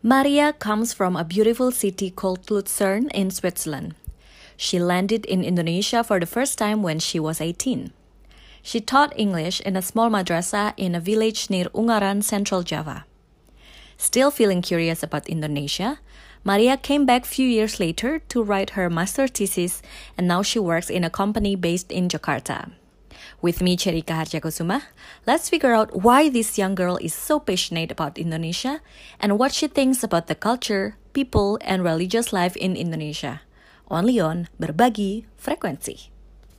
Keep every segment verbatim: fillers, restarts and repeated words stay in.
Maria comes from a beautiful city called Luzern in Switzerland. She landed in Indonesia for the first time when she was eighteen. She taught English in a small madrasah in a village near Ungaran, Central Java. Still feeling curious about Indonesia, Maria came back few years later to write her master thesis, and now she works in a company based in Jakarta. With me, Cherika Harjakusuma, let's figure out why this young girl is so passionate about Indonesia and what she thinks about the culture, people, and religious life in Indonesia. Only on Berbagi Frekuensi.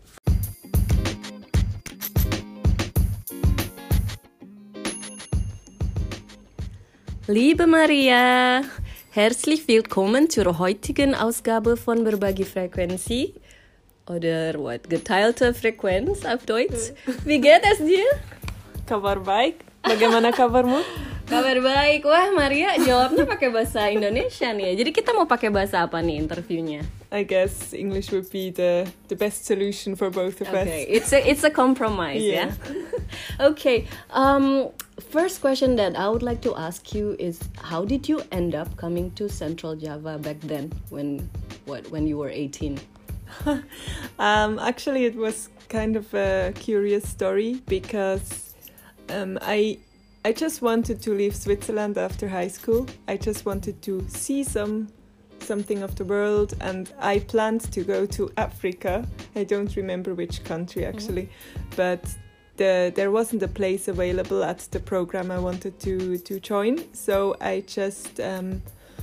Liebe Maria, herzlich willkommen zur heutigen Ausgabe von Berbagi Frekuensi. Oder what? Geteilte Frequenz auf Deutsch. Wie geht es dir? Kabar baik. Bagaimana kabarmu? Kabar baik. Wah, Maria jawabnya pakai bahasa Indonesia nih. Jadi kita mau pakai bahasa apa nih interviewnya? I guess English would be the the best solution for both of okay. us. It's a it's a compromise, yeah. yeah? Okay. Um first question that I would like to ask you is, how did you end up coming to Central Java back then when what when you were eighteen? um, actually, it was kind of a curious story because um, I I just wanted to leave Switzerland after high school. I just wanted to see some something of the world, and I planned to go to Africa. I don't remember which country actually, mm-hmm. but the, there wasn't a place available at the program I wanted to to join, so I just. Um,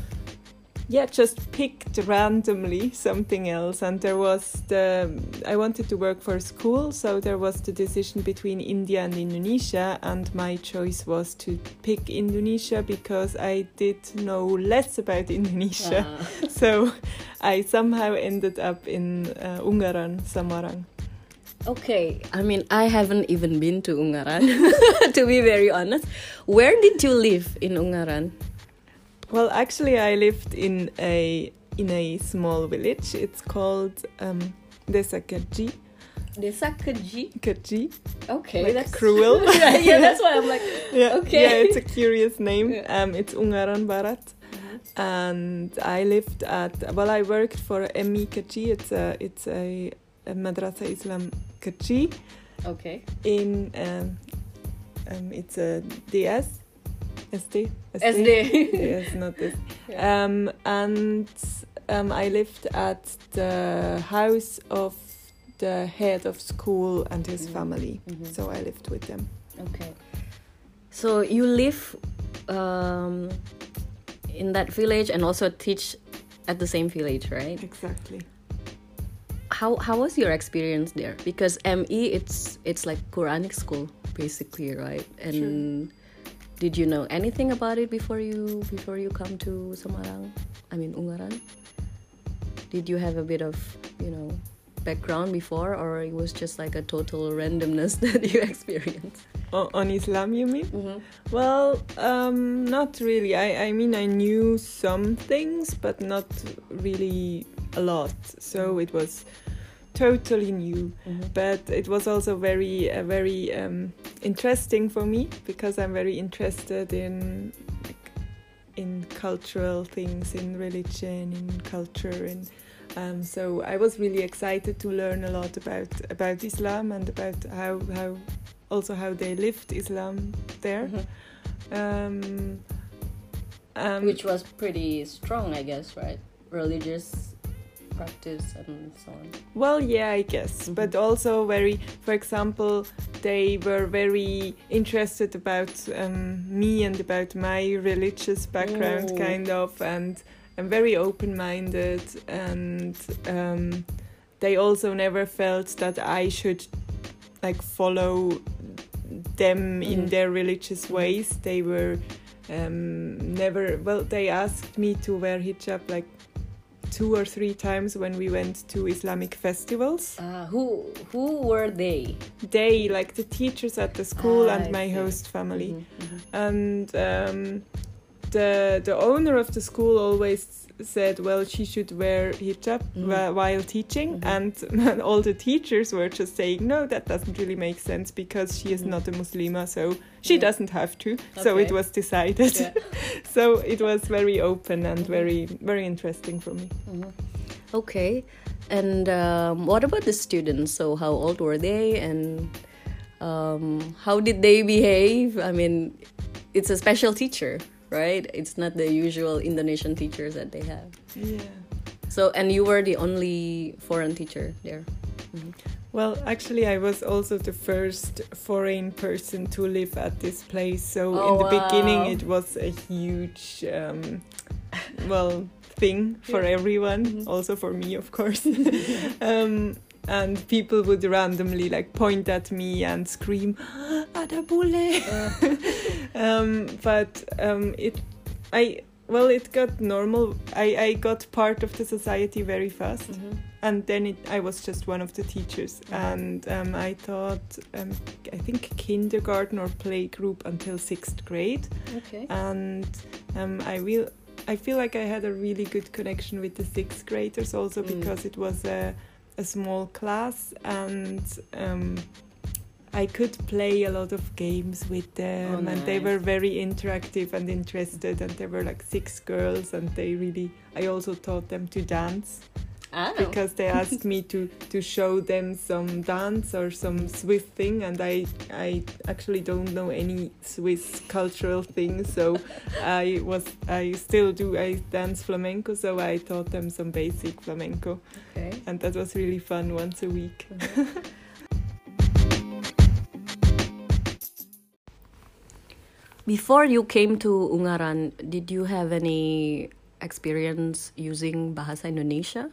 Yeah, just picked randomly something else, and there was the. I wanted to work for a school, so there was the decision between India and Indonesia, and my choice was to pick Indonesia because I did know less about Indonesia. Ah. So I somehow ended up in uh, Ungaran, Samarang. Okay, I mean, I haven't even been to Ungaran, to be very honest. Where did you live in Ungaran? Well, actually, I lived in a in a small village. It's called um, Desa Kerji. Desa Kerji? Kerji. Okay, like that's cruel. yeah, yeah, that's why I'm like, yeah, okay. Yeah, it's a curious name. Yeah. Um, it's Ungaran Barat, mm-hmm. and I lived at. Well, I worked for M I Kerji. It's a it's a, a Madrasah Islam Kerji. Okay. In um, um, it's a D S. S D? S D. Yes, not this. Yeah. Um, and um, I lived at the house of the head of school and his mm-hmm. family. Mm-hmm. So I lived with them. Okay. So you live um, in that village and also teach at the same village, right? Exactly. How how was your experience there? Because M E, it's it's like Quranic school basically, right? And sure. Did you know anything about it before you before you come to Samarang? I mean Ungaran. Did you have a bit of, you know, background before, or it was just like a total randomness that you experienced? O- on Islam, you mean? Mm-hmm. Well, um, not really. I, I mean, I knew some things, but not really a lot. So it was totally new, mm-hmm. but it was also very uh, very um, interesting for me because I'm very interested in like, in cultural things, in religion, in culture, and um, so I was really excited to learn a lot about about Islam and about how how also how they lived Islam there, mm-hmm. um, um, which was pretty strong, I guess, right? Religious practice and so on. Well, yeah, I guess, mm-hmm. but also very, for example, they were very interested about um, me and about my religious background, oh. kind of, and I'm very open-minded, and um, they also never felt that I should like follow them mm-hmm. in their religious ways. They were um, never, well, they asked me to wear hijab like two or three times when we went to Islamic festivals. Uh, who who were they? They, like the teachers at the school ah, and my I host family. Mm-hmm, mm-hmm. And um, the the owner of the school always said, well, she should wear hijab Mm. whi- while teaching, Mhm. and all the teachers were just saying, no, that doesn't really make sense because she is Mhm. not a Muslima, so she Yeah. doesn't have to. So it Okay. was decided. Yeah. So it was very open and Mhm. very very interesting for me. Mhm. Okay, and um, what about the students? So how old were they, and um, how did they behave? I mean, it's a special teacher, right? It's not the usual Indonesian teachers that they have. Yeah. So, and you were the only foreign teacher there. Mhm. Well, actually, I was also the first foreign person to live at this place. So Oh, in the beginning, wow. it was a huge, um, well, thing for Yeah. everyone, Mhm. also for me, of course. um, and people would randomly like point at me and scream, "Ada bule!" um, but um, it, I well, it got normal. I I got part of the society very fast. Mhm. And then it, I was just one of the teachers, Mhm. and um, I taught, um, I think, kindergarten or playgroup until sixth grade, Okay. and um, I will. I feel like I had a really good connection with the sixth graders also Mm. because it was a, a small class, and um, I could play a lot of games with them, Oh, and they nice. were very interactive and interested, and there were like six girls, and they really. I also taught them to dance. Ah. Because they asked me to to show them some dance or some Swiss thing, and I I actually don't know any Swiss cultural things, so I was I still do I dance flamenco, so I taught them some basic flamenco, Okay. and that was really fun once a week. Before you came to Ungaran, did you have any experience using Bahasa Indonesia?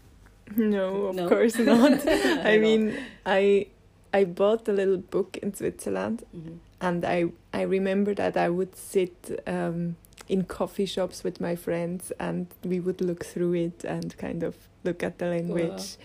No, of No? course not. At I all. mean, I I bought a little book in Switzerland, Mhm. and I I remember that I would sit um, in coffee shops with my friends, and we would look through it and kind of look at the language.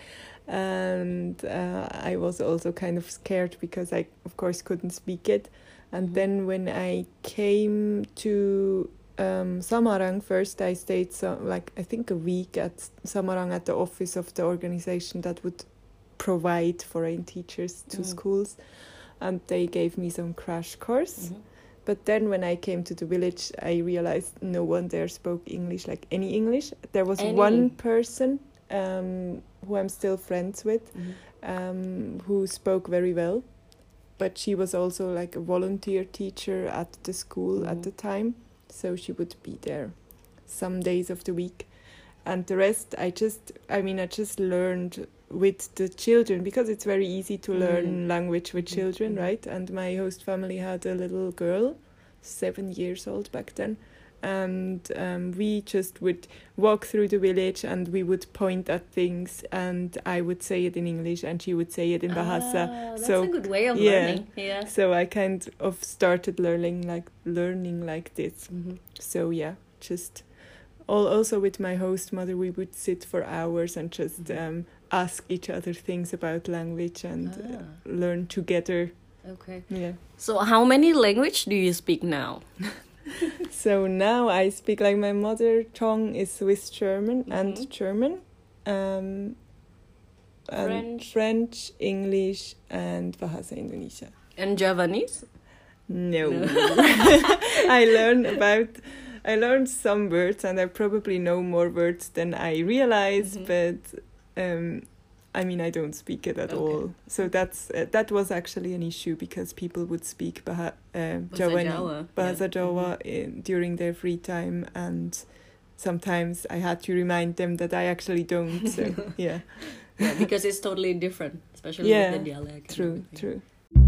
And uh, I was also kind of scared because I, of course, couldn't speak it. And Mhm. then when I came to um, Samarang first, I stayed so like I think a week at Samarang at the office of the organization that would provide foreign teachers to Mhm. schools, and they gave me some crash course. Mhm. But then when I came to the village, I realized no one there spoke English, like any English. There was Any? one person um, who I'm still friends with, Mhm. um, who spoke very well, but she was also like a volunteer teacher at the school at Mhm. the time, so she would be there some days of the week, and the rest I just, I mean, I just learned with the children because it's very easy to learn Mm. language with Mhm. children, Mhm. right? And my host family had a little girl, seven years old back then, and um, we just would walk through the village and we would point at things, and I would say it in English and she would say it in Bahasa. Ah, that's So, a good way of yeah. learning. Yeah. So I kind of started learning like learning like this. Mhm. So yeah, just all also with my host mother, we would sit for hours and just Mhm. um, ask each other things about language and uh, Ah. learn together. Okay. Yeah. So, how many language do you speak now? So now I speak like my mother tongue is Swiss German and Mhm. German, um, and French. French, English, and Bahasa Indonesia. And Javanese? No, No. I learned about. I learned some words, and I probably know more words than I realize. Mhm. But um, I mean, I don't speak it at Okay. all. So that's uh, that was actually an issue because people would speak Baha, uh, Bahasa Javanese, Jawa, Bahasa yeah. Jawa in, during their free time, and sometimes I had to remind them that I actually don't. So yeah, Yeah, because it's totally different, especially Yeah, with the dialect. and true, everything. true.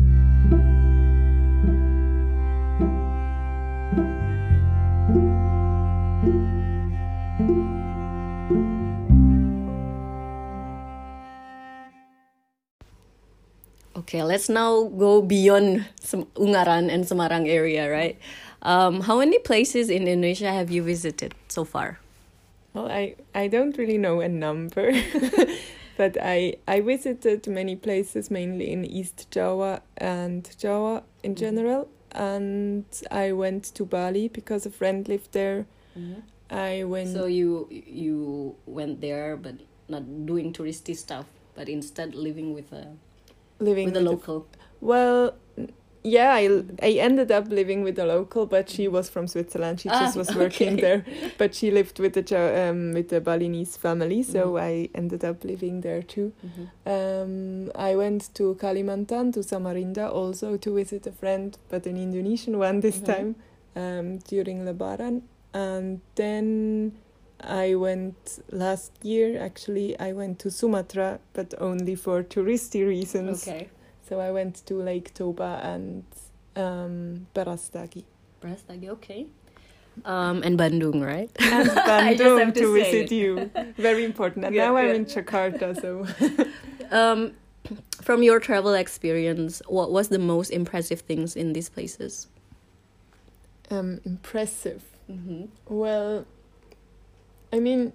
Okay, let's now go beyond Sem- Ungaran and Semarang area, right? Um, how many places in Indonesia have you visited so far? Well, I, I don't really know a number, but I I visited many places, mainly in East Java and Java in Mhm. general. and I went to Bali because a friend lived there. Mm-hmm. I went. So you you went there, but not doing touristy stuff, but instead living with a living with a local. A, well, yeah, I I ended up living with a local, but she was from Switzerland. She Ah, just was working okay. there, but she lived with the Jo- um with the Balinese family, so Mhm. I ended up living there too. Mm-hmm. Um, I went to Kalimantan, to Samarinda, also to visit a friend, but an Indonesian one this Mhm. time, um, during Lebaran. And then I went last year, actually, I went to Sumatra, but only for touristy reasons. Okay. So I went to Lake Toba and um, Barastagi. Brastagi, okay. Um, and Bandung, right? And I just have Bandung to to say visit it. you. Very important. And Yeah, now I'm yeah. in Jakarta, so... Um, from your travel experience, what was the most impressive things in these places? um, impressive. Mm-hmm. Well, I mean,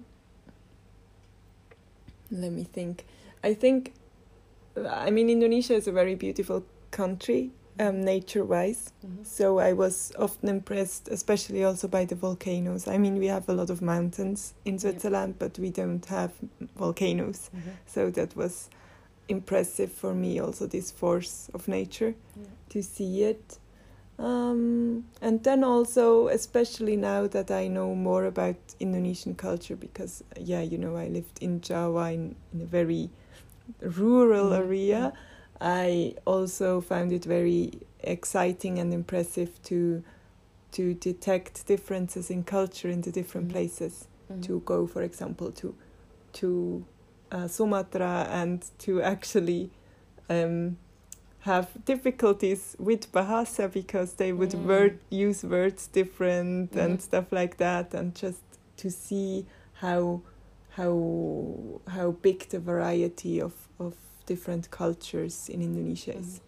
let me think. I think, I mean, Indonesia is a very beautiful country, um, nature-wise. Mm-hmm. So I was often impressed, especially also by the volcanoes. I mean, we have a lot of mountains in Switzerland, but we don't have volcanoes. Mm-hmm. So that was impressive for me, also this force of nature, Yeah. to see it. Um, and then also, especially now that I know more about Indonesian culture, because, yeah, you know, I lived in Java in, in a very rural Mhm. area, I also found it very exciting and impressive to to detect differences in culture in the different Mhm. places. Mhm. To go, for example, to to uh, Sumatra and to actually um, have difficulties with Bahasa because they would Mm. word use words different Mhm. and stuff like that, and just to see how how how big the variety of, of different cultures in Indonesia is.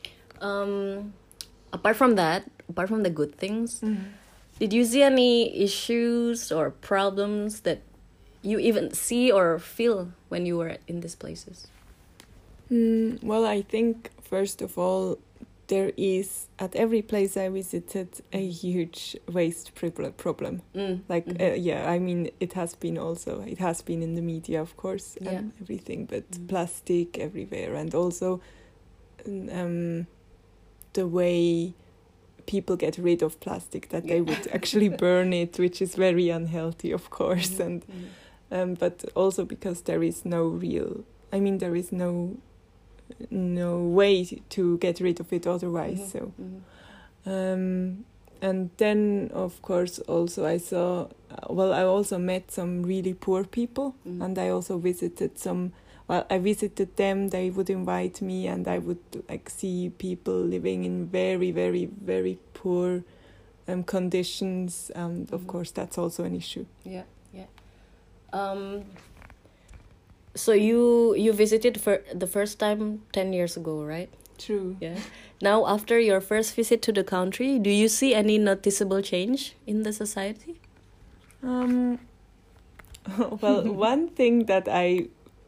Um, apart from that, apart from the good things, Mm. did you see any issues or problems that you even see or feel when you were in these places? Mm, well, I think first of all, there is at every place I visited a huge waste prob- problem. Mm. Like, Mhm. uh, yeah, I mean, it has been also, it has been in the media, of course, Yeah. and everything, but Mm. plastic everywhere, and also um, the way people get rid of plastic, that they Yeah. would actually burn it, which is very unhealthy, of course, Mhm. and Mhm. um, but also because there is no real, I mean, there is no no way to get rid of it otherwise. Mhm. So, Mhm. um, and then of course also I saw, well, I also met some really poor people, Mhm. and I also visited some. Well, I visited them. They would invite me, and I would like see people living in very, very, very poor um, conditions, and of Mhm. course that's also an issue. Yeah, yeah. Um. So you you visited for the first time ten years ago, right? True. Yeah. Now, after your first visit to the country, do you see any noticeable change in the society? Um, well, one thing that I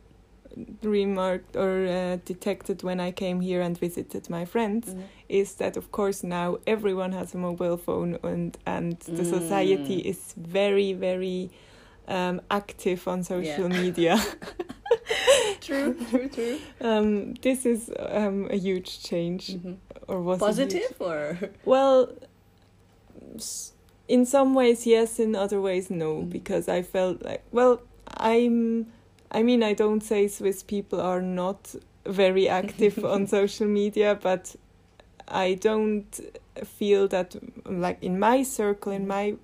remarked or uh, detected when I came here and visited my friends Mhm. is that, of course, now everyone has a mobile phone, and and the Mm. society is very, very um, active on social media. True, true, true. Um, this is um, a huge change, Mhm. or was a huge- Positive or? Well, s- in some ways yes, in other ways no, Mm. because I felt like, well, I'm, I mean, I don't say Swiss people are not very active on social media, but I don't feel that, like, in my circle, in my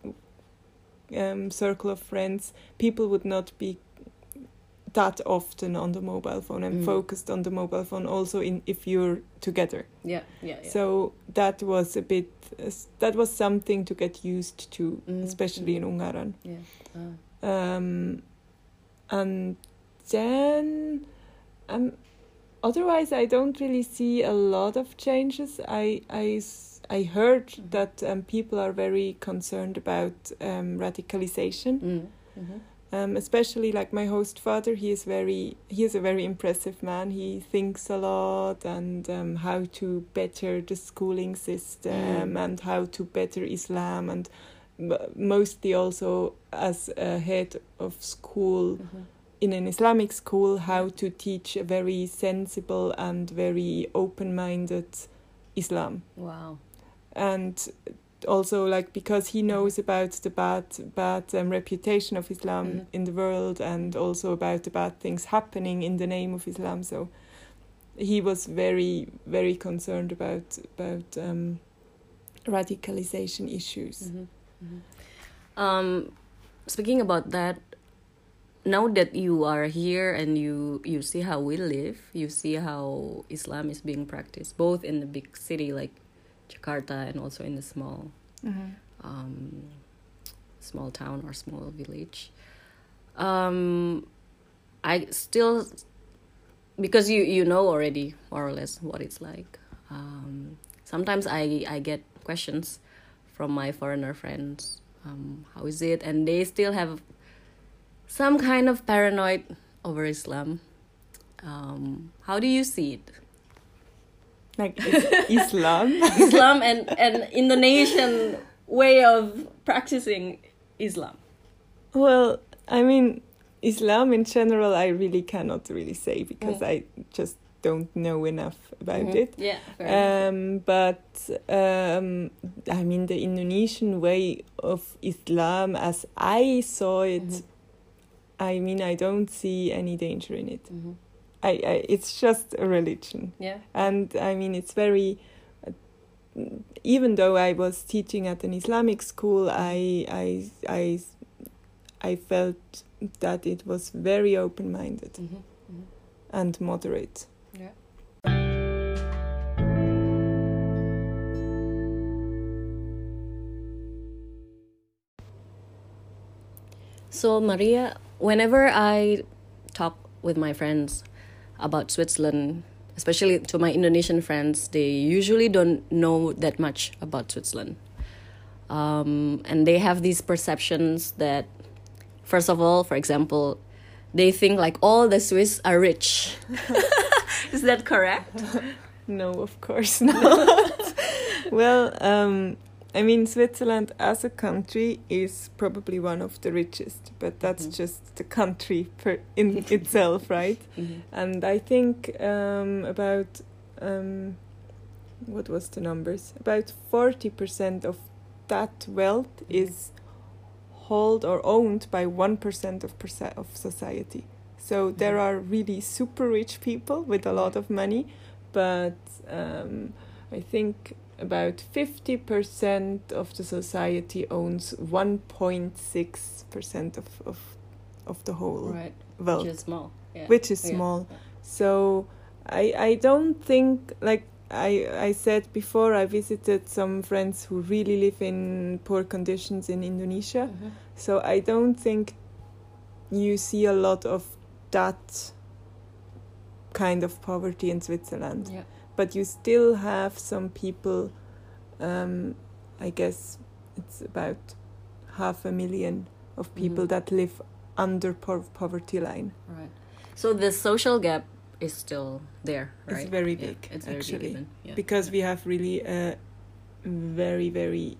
um, circle of friends, people would not be that often on the mobile phone and Mm. focused on the mobile phone also in if you're together. Yeah, yeah, yeah. So that was a bit, uh, that was something to get used to, Mm, especially mm. in Ungaran. Yeah. Uh, Um, and then, um, otherwise, I don't really see a lot of changes. I, I, s- I heard Mhm. that um, people are very concerned about um, radicalization. mm, mhm. Um, especially like my host father, he is very he is a very impressive man. He thinks a lot and um, how to better the schooling system mm. and how to better Islam, and mostly also as a head of school mm-hmm. in an Islamic school, how to teach a very sensible and very open-minded Islam. Wow. And also, like, because he knows about the bad bad um, reputation of Islam mm-hmm. in the world, and also about the bad things happening in the name of Islam. So he was very, very concerned about about um, radicalization issues. Mm-hmm. Mm-hmm. Um, speaking about that, now that you are here and you, you see how we live, you see how Islam is being practiced, both in the big city like Jakarta and also in the small mm-hmm. um, small town or small village. Um, I still, because you, you know already more or less what it's like. Um, sometimes I, I get questions from my foreigner friends. Um, how is it? And they still have some kind of paranoid over Islam. Um, how do you see it? Like Islam? Islam and, and Indonesian way of practicing Islam. Well, I mean, Islam in general, I really cannot really say because mm. I just don't know enough about mm-hmm. it. Yeah. Um, but um, I mean, the Indonesian way of Islam, as I saw it, mm-hmm. I mean, I don't see any danger in it. Mm-hmm. I, I, it's just a religion. Yeah. And I mean, it's very, uh, even though I was teaching at an Islamic school, I, I, I, I felt that it was very open-minded mm-hmm. Mm-hmm. and moderate. Yeah. So, Maria, whenever I talk with my friends about Switzerland, especially to my Indonesian friends, they usually don't know that much about Switzerland. Um, and they have these perceptions that, first of all, for example, they think like all the Swiss are rich. Is that correct? No, of course not. Well, um, I mean, Switzerland as a country is probably one of the richest, but that's mm-hmm. just the country per in itself, right? Mm-hmm. And I think um, about, um, what was the numbers? About forty percent of that wealth mm-hmm. is held or owned by one percent of percent of society. So mm-hmm. there are really super rich people with a lot of money, but um, I think about fifty percent of the society owns one point six percent of, of of the whole right. wealth. Which is small. Yeah. Which is yeah. small. Yeah. So I I don't think, like I, I said before, I visited some friends who really live in poor conditions in Indonesia. Mm-hmm. So I don't think you see a lot of that kind of poverty in Switzerland. Yeah. But you still have some people, um, I guess it's about half a million of people mm-hmm. that live under po- poverty line. Right. So the social gap is still there, right? It's very big, yeah, it's very actually, big even. Yeah. because yeah. we have really a very, very,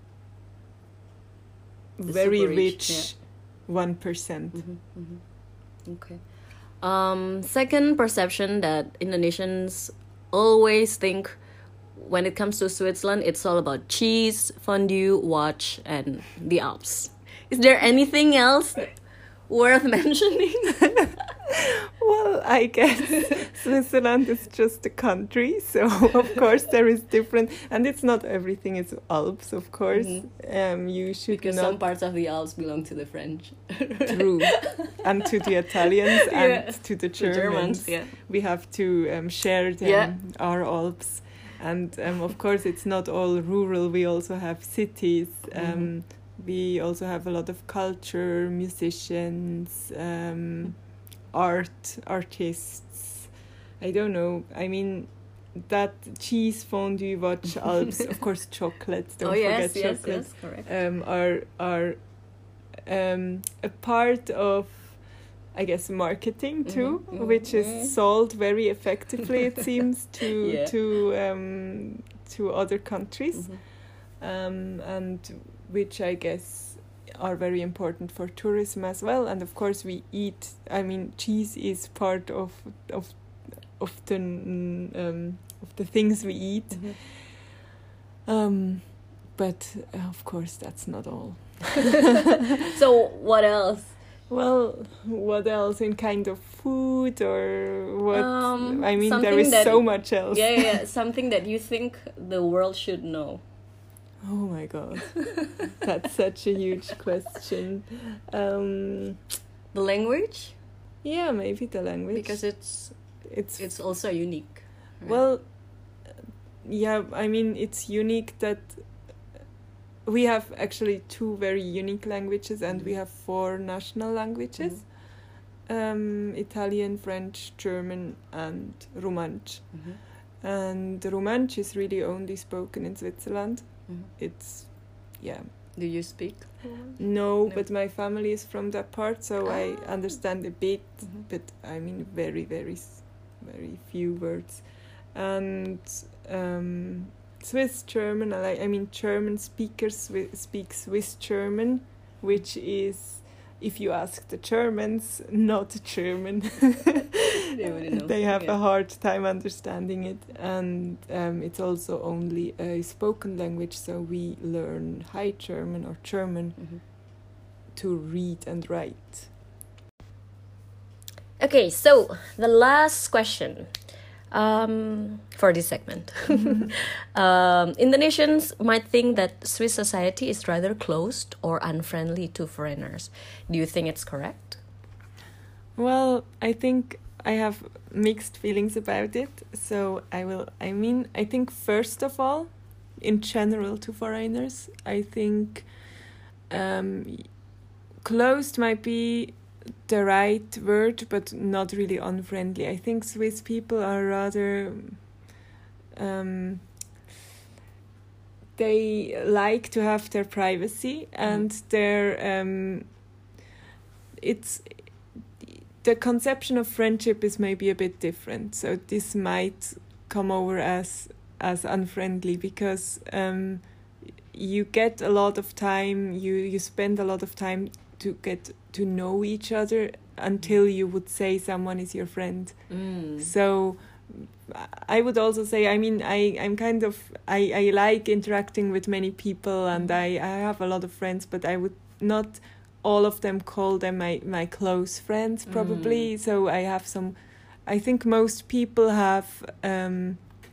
the very rich, rich yeah. one percent. Mm-hmm, mm-hmm. Okay. Um, second perception that Indonesians always think when it comes to Switzerland, it's all about cheese, fondue, watch, and the Alps. Is there anything else worth mentioning? Well, I guess Switzerland is just a country, so of course there is different, and it's not everything is Alps, of course. Mm-hmm. Um, you should because not... some parts of the Alps belong to the French. True, and to the Italians and yeah. to the Germans. The Germans yeah. We have to um, share them, yeah. our Alps, and um, of course it's not all rural. We also have cities. Um, mm-hmm. We also have a lot of culture, musicians. Um, art artists. I don't know, I mean, that cheese, fondue, watch, Alps, of course chocolate, don't oh, forget yes, chocolate yes, yes, correct. Um, are are um, a part of, I guess, marketing too, Mm-hmm. which Mm-hmm. is sold very effectively, it seems, to Yeah. to um, to other countries, Mm-hmm. um, and which I guess are very important for tourism as well. And of course, we eat. I mean, cheese is part of of of the um, of the things we eat. Mm-hmm. Um, but uh, of course, that's not all. So what else? Well, what else in kind of food or what? Um, I mean, there something is that- so much else. Yeah, yeah, yeah, something that you think the world should know. Oh my god, that's such a huge question. Um, The language, yeah, maybe the language, because it's it's it's also unique. right? well, yeah. I mean, it's unique that we have actually two very unique languages, and we Mhm. have four national languages: um, Italian, French, German, and Romansh. Mhm. And Romansh is really only spoken in Switzerland. Mhm. It's, yeah. Do you speak? No, No. but my family is from that part, so I Ah. understand a bit, Mhm. but I mean very, very, s- very few words. And um, Swiss German, I, like- I mean German speakers swi- speak Swiss German, which is, if you ask the Germans, not German. They wouldn't know. They have Yeah. a hard time understanding it, and um, it's also only a spoken language, so we learn High German or German Mhm. to read and write. Okay, so the last question um, for this segment. um, Indonesians might think that Swiss society is rather closed or unfriendly to foreigners. Do you think it's correct? Well, I think I have mixed feelings about it. So I will, I mean, I think first of all, in general to foreigners, I think um, closed might be the right word, but not really unfriendly. I think Swiss people are rather, um, they like to have their privacy and their, um, it's, the conception of friendship is maybe a bit different. So this might come over as as unfriendly because um, you get a lot of time, you, you spend a lot of time to get to know each other until you would say someone is your friend. Mm. So I would also say, I mean, I, I'm kind of, I, I like interacting with many people and I, I have a lot of friends, but I would not all of them call them my, my close friends probably. Mm. So I have some, I think most people have um,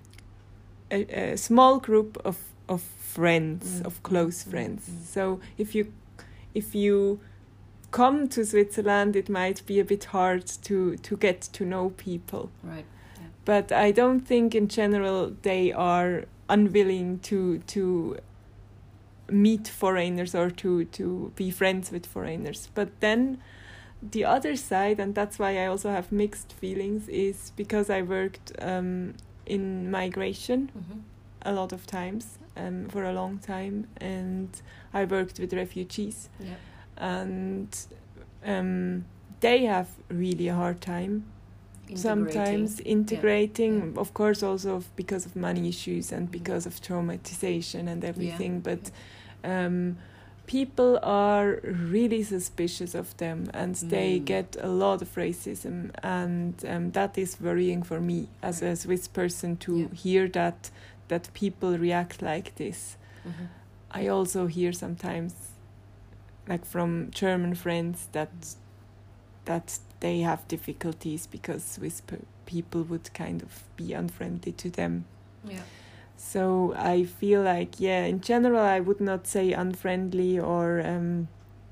a, a small group of, of friends, Mm. of close Mm. friends. Mm. So if you if you come to Switzerland, it might be a bit hard to, to get to know people. Right. But I don't think in general they are unwilling to to meet foreigners or to, to be friends with foreigners. But then the other side, and that's why I also have mixed feelings, is because I worked um, in migration Mm-hmm. a lot of times um, for a long time, and I worked with refugees. Yeah. And um, they have really a hard time sometimes integrating, Yeah. of course also of, because of money issues and because of traumatization and everything, Yeah. but um, people are really suspicious of them and they Mm. get a lot of racism, and um, that is worrying for me as a Swiss person to Yeah. hear that that people react like this. Mm-hmm. I also hear sometimes, like from German friends, that that they have difficulties because Swiss pe- people would kind of be unfriendly to them. Yeah. So I feel like, yeah, in general, I would not say unfriendly or um,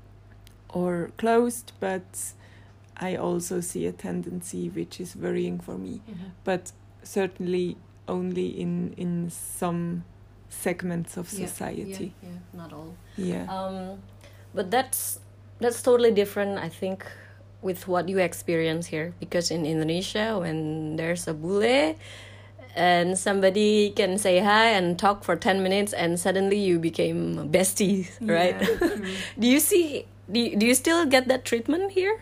or closed, but I also see a tendency which is worrying for me. Mm-hmm. But certainly only in in some segments of Yeah, society. Yeah, yeah, not all. Yeah. Um, but that's that's totally different, I think, with what you experience here. Because in Indonesia, when there's a bule, and somebody can say hi and talk for ten minutes, and suddenly you became besties, right? Yeah, true. Do you see Do, do you still get that treatment here?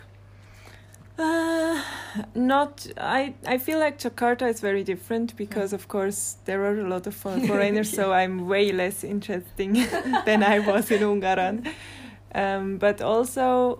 Uh, not. I. I feel like Jakarta is very different because, of course, there are a lot of for- foreigners. So I'm way less interesting than I was in Ungaran. Um, but also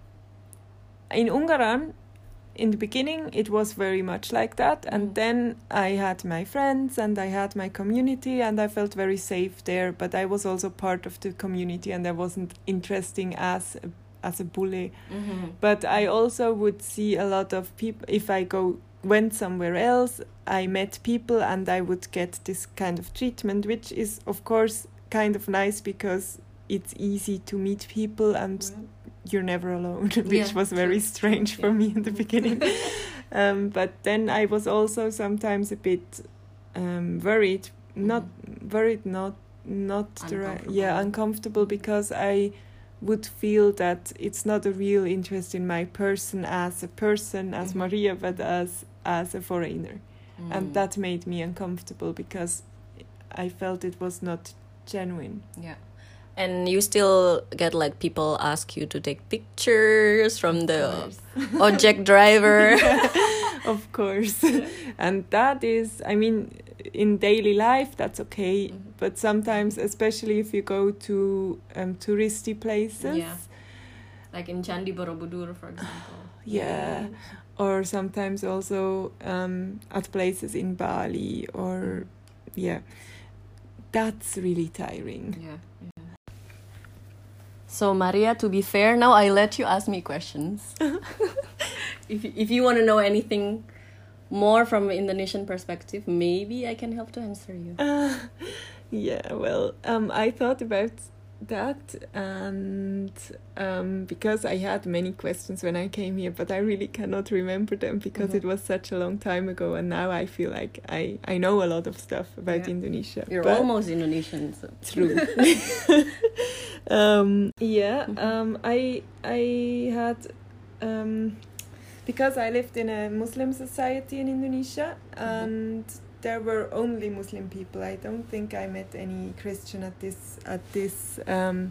in Ungaran, in the beginning, it was very much like that, and Mm. then I had my friends and I had my community, and I felt very safe there. But I was also part of the community, and I wasn't interesting as a as a bully. Mm-hmm. But I also would see a lot of people. If I go went somewhere else, I met people and I would get this kind of treatment, which is of course kind of nice because it's easy to meet people and Right. you're never alone, which Yeah, was very true, strange true, for yeah. me in the beginning. um, but then I was also sometimes a bit um, worried, not worried, not not the right, yeah, Uncomfortable. uncomfortable because I would feel that it's not a real interest in my person as a person, as Mhm. Maria, but as as a foreigner, Mm. and that made me uncomfortable because I felt it was not genuine. Yeah. And you still get like people ask you to take pictures from the course. object driver. Of course. And that is, I mean, in daily life, that's okay. Mhm. But sometimes, especially if you go to um, touristy places, Yeah. Like in Candi Borobudur, for example. yeah, or sometimes also um, at places in Bali, or yeah, that's really tiring. Yeah. yeah. So Maria, to be fair, now I let you ask me questions. if you- if you want to know anything more from an Indonesian perspective, maybe I can help to answer you. Uh, yeah, well, um, I thought about that, and um, because I had many questions when I came here, but I really cannot remember them because Mhm. it was such a long time ago, and now I feel like I, I know a lot of stuff about Yeah. Indonesia. You're but almost Indonesian, so. true. um, yeah, Mhm. um, I I had. Um, because I lived in a Muslim society in Indonesia, and there were only Muslim people. I don't think I met any Christian at this at this um,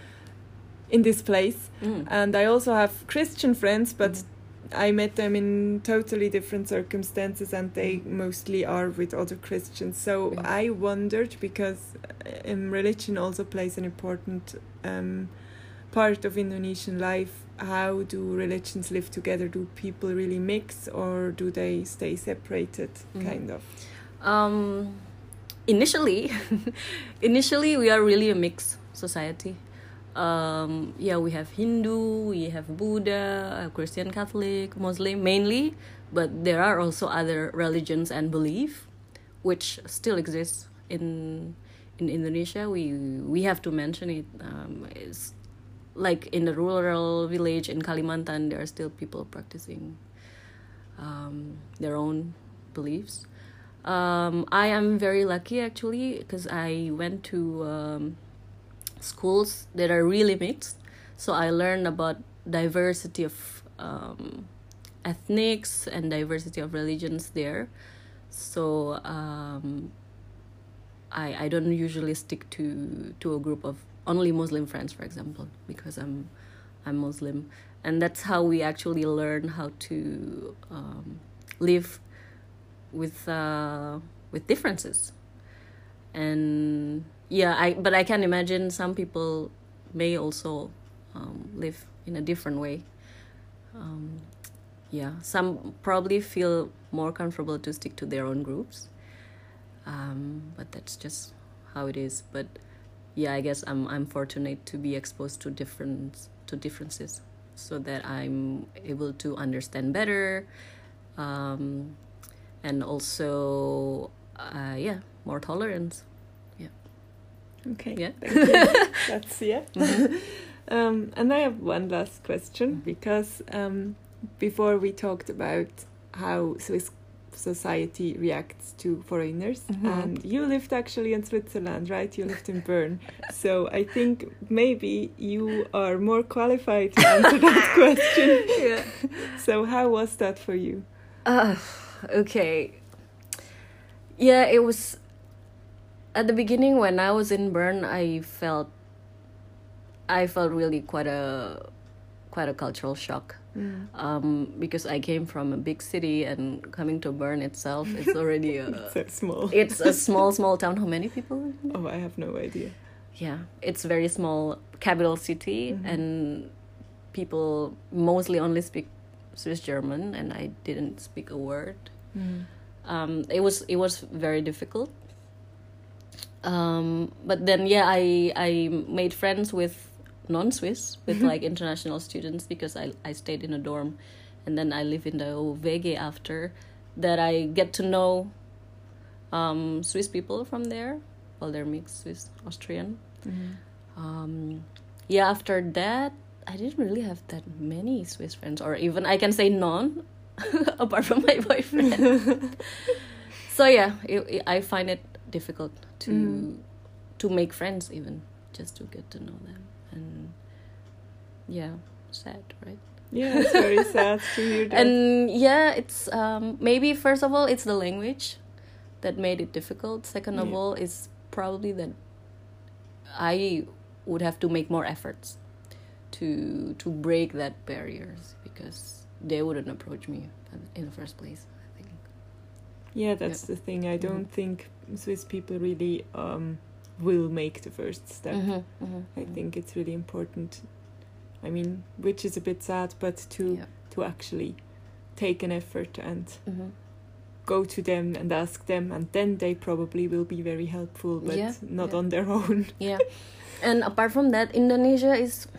in this place. Mm. And I also have Christian friends, but Mhm. I met them in totally different circumstances, and they mostly are with other Christians. So Yeah. I wondered, because um, religion also plays an important um, part of Indonesian life. How do religions live together? Do people really mix, or do they stay separated, Mhm. kind of? Um, initially, initially we are really a mixed society. Um, yeah, we have Hindu, we have Buddha, Christian, Catholic, Muslim mainly, but there are also other religions and belief which still exists in in Indonesia. We we have to mention it. Um, it's like in the rural village in Kalimantan, there are still people practicing um, their own beliefs. Um, I am very lucky actually because I went to um, schools that are really mixed. So I learned about diversity of um, ethnics and diversity of religions there. So um, I I don't usually stick to to a group of only Muslim friends, for example, because I'm I'm Muslim, and that's how we actually learn how to um, live with uh, with differences. And yeah, I but I can imagine some people may also um, live in a different way. Um, yeah, some probably feel more comfortable to stick to their own groups, um, but that's just how it is. But yeah, I guess I'm I'm fortunate to be exposed to different to differences, so that I'm able to understand better, um, and also uh, yeah, more tolerance. Yeah. Okay. Yeah. Thank you. That's yeah. um, and I have one last question, because um, before we talked about how Swiss society reacts to foreigners, Mhm. and you lived actually in Switzerland, right? You lived in Bern, so I think maybe you are more qualified to answer that question. Yeah. So how was that for you? Uh, okay. Yeah, it was at the beginning when I was in Bern, I felt I felt really quite a quite a cultural shock. Mm. Um, because I came from a big city, and coming to Bern itself, it's already a It's so small. it's a small small town. How many people live in it? Oh, I have no idea. Yeah, it's very small capital city, Mhm. and people mostly only speak Swiss German, and I didn't speak a word. Mm. Um, it was it was very difficult. Um, but then yeah, I I made friends with non-Swiss, with like international students, because I I stayed in a dorm, and then I live in the V G after that. I get to know um, Swiss people from there. Well, they're mixed Swiss Austrian. Mm. Um, yeah, after that, I didn't really have that many Swiss friends, or even I can say none, apart from my boyfriend. So yeah, it, it, I find it difficult to Mm. to make friends, even just to get to know them, and yeah, sad, right? Yeah, it's very sad to hear that. And yeah, it's um, maybe first of all it's the language that made it difficult. Second of Yeah. all, is probably that I would have to make more efforts to to break that barriers, because they wouldn't approach me in the first place, I think. Yeah, that's Yeah. the thing. I don't Mhm. think Swiss people really um, will make the first step. Mhm, mhm, I mhm. think it's really important. I mean, which is a bit sad, but to Yeah. to actually take an effort and Mhm. go to them and ask them, and then they probably will be very helpful, but Yeah, not yeah. on their own. Yeah, and apart from that, Indonesia is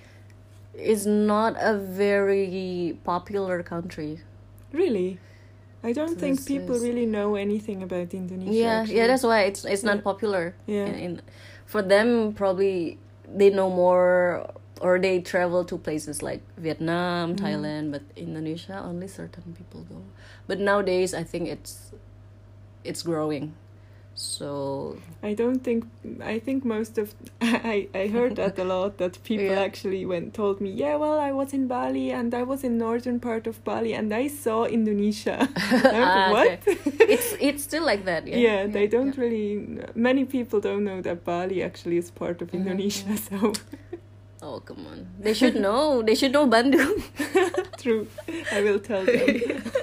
is not a very popular country. Really, I don't So think this people is- really know anything about Indonesia. Yeah, actually. yeah, that's why it's it's Yeah. not popular. Yeah. In, in for them, probably they know more, or they travel to places like Vietnam, Mm. Thailand, but Indonesia only certain people go. But nowadays, I think it's it's growing. So I don't think I think most of I I heard that a lot, that people Yeah. actually went told me, yeah, well, I was in Bali and I was in northern part of Bali and I saw Indonesia. I'm Ah, like, what? it's it's still like that. Yeah, Yeah, they don't yeah. really. Many people don't know that Bali actually is part of Mhm, Indonesia. So Oh, come on! They should know. They should know Bandung. true. I will tell them.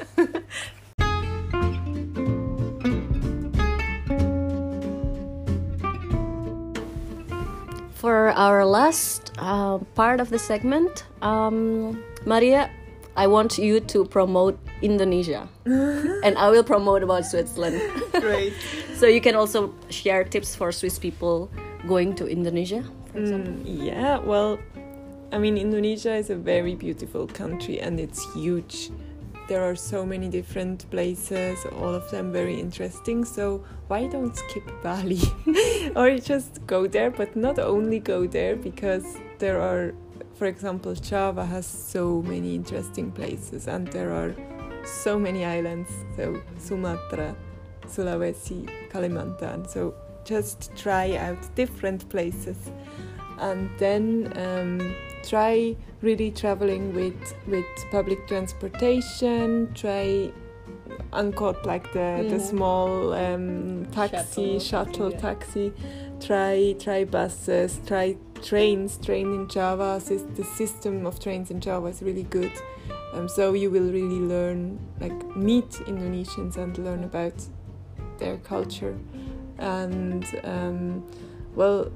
For our last uh, part of the segment, um, Maria, I want you to promote Indonesia, and I will promote about Switzerland. Great. So you can also share tips for Swiss people going to Indonesia, for example. Mm, yeah, well, I mean, Indonesia is a very beautiful country and it's huge. There are so many different places, all of them very interesting. So why don't skip Bali? Or just go there, but not only go there, because there are, for example, Java has so many interesting places and there are so many islands. So Sumatra, Sulawesi, Kalimantan. So just try out different places. And then um, try really traveling with with public transportation. Try Angkot, like the the Mhm. small um, taxi, Shuttle, shuttle yeah. taxi. Try try buses. Try trains. Train in Java. Sys- the system of trains in Java is really good. Um, so you will really learn, like, meet Indonesians and learn about their culture. And um, well.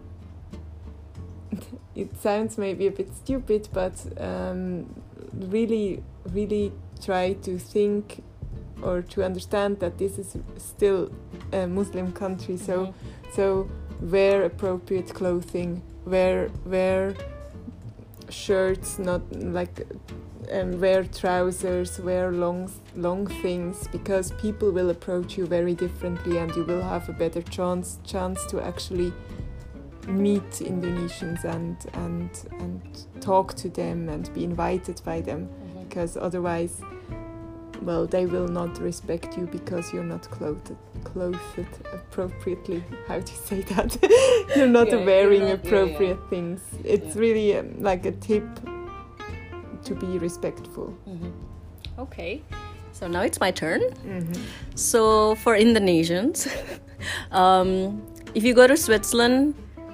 It sounds maybe a bit stupid, but um, really, really try to think or to understand that this is still a Muslim country. So, Mhm. so wear appropriate clothing, wear wear shirts, not like um, wear trousers, wear long long things, because people will approach you very differently, and you will have a better chance chance to actually meet Indonesians and and and talk to them and be invited by them, Mhm. because otherwise, well, they will not respect you because you're not clothed clothed appropriately. How do you say that? You're not Yeah, you're wearing not- yeah, appropriate yeah. things. It's Yeah. really um, like a tip to be respectful. Mhm. Okay, so now it's my turn. Mm-hmm. So for Indonesians, um, if you go to Switzerland,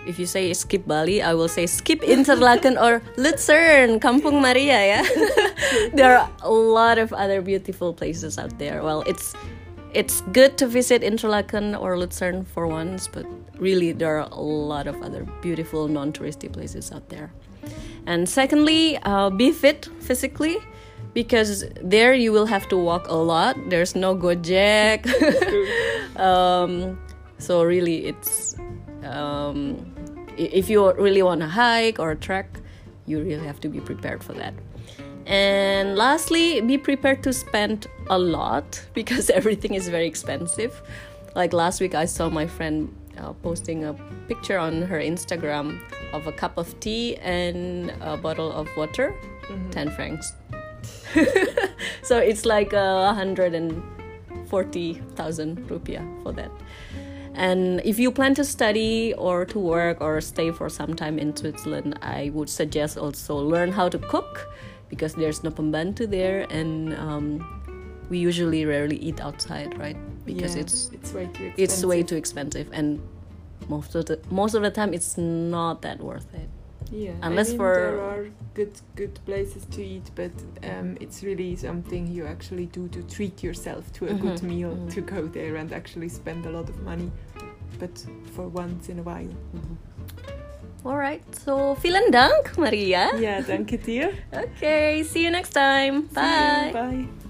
if you say skip Bali, I will say skip Interlaken or Luzern, Kampung Maria. Yeah, there are a lot of other beautiful places out there. Well, it's it's good to visit Interlaken or Luzern for once, but really there are a lot of other beautiful non-touristy places out there. And secondly, uh, be fit physically, because there you will have to walk a lot. There's no Gojek. um, so really, it's um, if you really want to hike or trek, you really have to be prepared for that. And lastly, be prepared to spend a lot, because everything is very expensive. Like last week, I saw my friend uh, posting a picture on her Instagram of a cup of tea and a bottle of water, mm-hmm. ten francs. So it's like a uh, hundred and forty thousand rupiah for that. And if you plan to study or to work or stay for some time in Switzerland, I would suggest also learn how to cook, because there's no pembantu there, and um, we usually rarely eat outside, right? Because yeah, it's it's way too expensive. It's way too expensive, and most of the most of the time it's not that worth it. Yeah, unless I mean, for there are good good places to eat, but um, it's really something you actually do to treat yourself to a mm-hmm. good meal, mm-hmm. to go there and actually spend a lot of money, but for once in a while. Mm-hmm. All right, so vielen Dank, Maria. Yeah, danke dir. Okay, see you next time. Bye. See you, bye.